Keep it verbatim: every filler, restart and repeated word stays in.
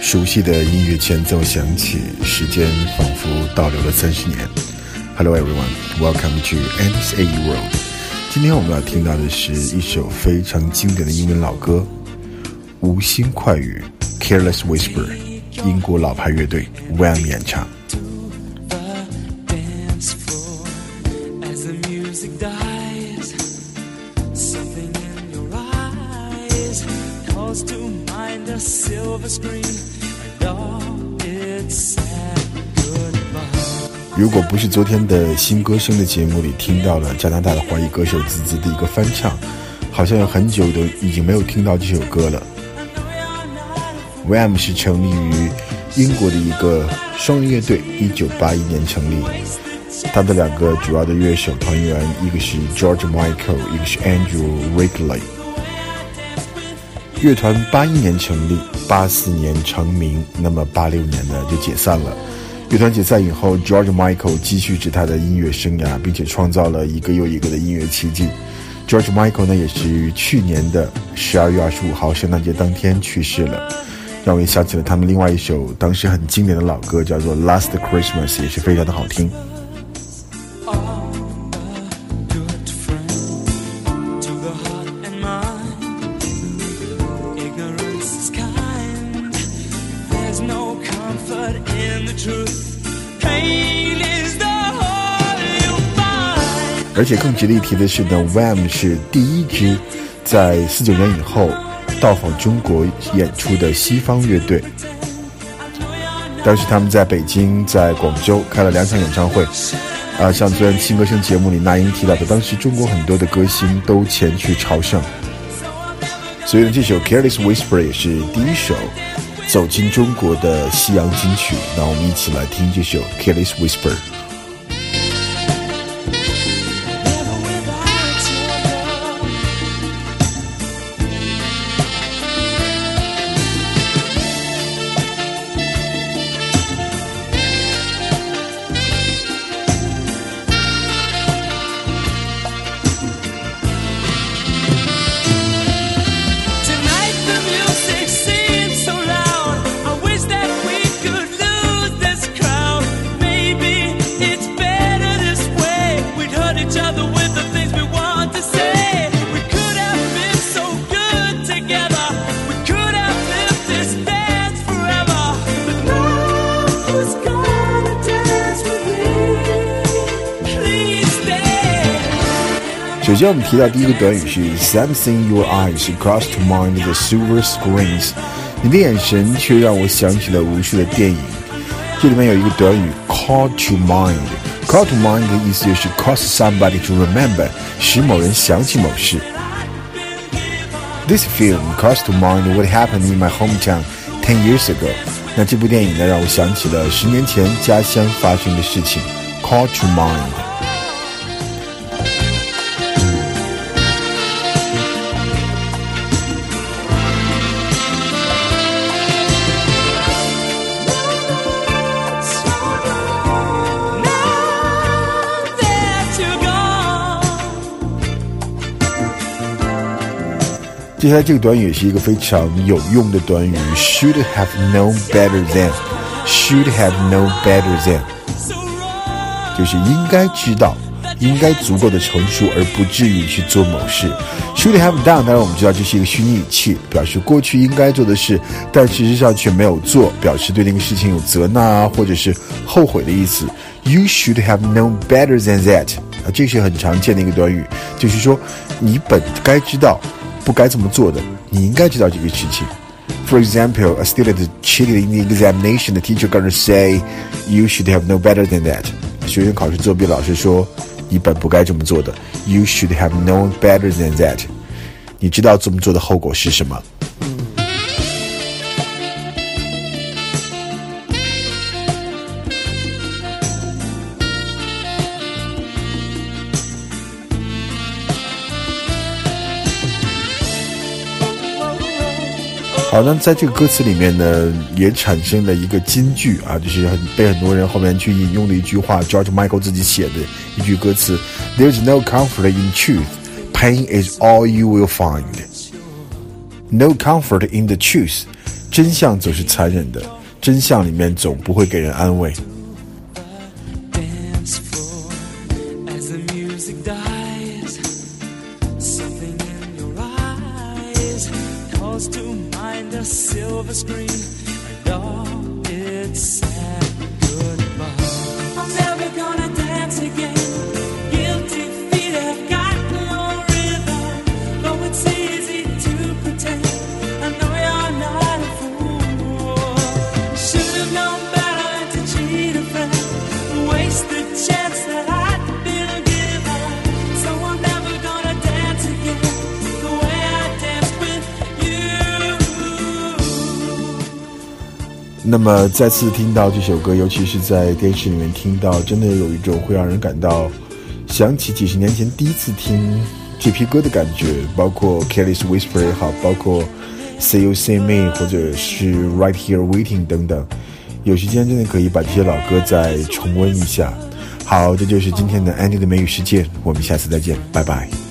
熟悉的音乐前奏响起，时间仿佛倒流了三十年。Hello everyone, welcome to Andy's A E World. 今天我们要听到的是一首非常经典的英文老歌，无心快语 Careless Whisper， 英国老牌乐队 Wham 演唱。如果不是昨天的新歌声的节目里听到了加拿大的华裔歌手滋滋的一个翻唱，好像有很久都已经没有听到这首歌了。Wham 是成立于英国的一个双人乐队，一九八一年成立。他的两个主要的乐手团员，一个是 George Michael， 一个是 Andrew Wrigley。乐团八一年成立，八四年成名，那么八六年呢就解散了。乐团解散以后 George Michael 继续着他的音乐生涯，并且创造了一个又一个的音乐奇迹。 George Michael 呢也是于去年的十二月二十五号圣诞节当天去世了，让我也想起了他们另外一首当时很经典的老歌，叫做 Last Christmas， 也是非常的好听。而且更值得一提的是呢 Wham 是第一支在四九年以后到访中国演出的西方乐队。当时他们在北京在广州开了两场演唱会啊，像昨天新歌声节目里那英提到的，当时中国很多的歌星都前去朝圣。所以呢，这首 Careless Whisper 也是第一首走进中国的西洋金曲。那我们一起来听这首 Careless Whisper。首先我们提到第一个短语是 Something your eyes cross to mind the silver screens， 你的眼神却让我想起了无数的电影。这里面有一个短语 call to mind， call to mind 的意思就是 cause somebody to remember， 使某人想起某事。 This film calls to mind what happened in my hometown ten years ago， 那这部电影呢让我想起了十年前家乡发生的事情。 call to mind。接下来这个短语也是一个非常有用的短语 should have known better than， should have known better than 就是应该知道，应该足够的成熟而不至于去做某事。 should have done 当然我们知道这是一个虚拟语气，表示过去应该做的事但事实上却没有做，表示对那个事情有责难啊或者是后悔的意思。 You should have known better than that， 啊，这是很常见的一个短语，就是说你本该知道不该这么做的，你应该知道这个事情。 For example, a student cheated in the examination, the teacher gonna say, you should have known better than that. 学生考试作弊，老师说你本不该这么做的。 You should have known better than that. 你知道这么做的后果是什么？好，那在这个歌词里面呢，也产生了一个金句啊，就是很被很多人后面去引用的一句话 ，George Michael 自己写的一句歌词 ：There's no comfort in truth, pain is all you will find. No comfort in the truth， 真相总是残忍的，真相里面总不会给人安慰。那么再次听到这首歌，尤其是在电视里面听到，真的有一种会让人感到想起几十年前第一次听这批歌的感觉，包括 Careless Whisper 也好，包括 Say You See Me 或者是 Right Here Waiting 等等，有时间真的可以把这些老歌再重温一下。好，这就是今天的 Andy 的美语世界，我们下次再见，拜拜。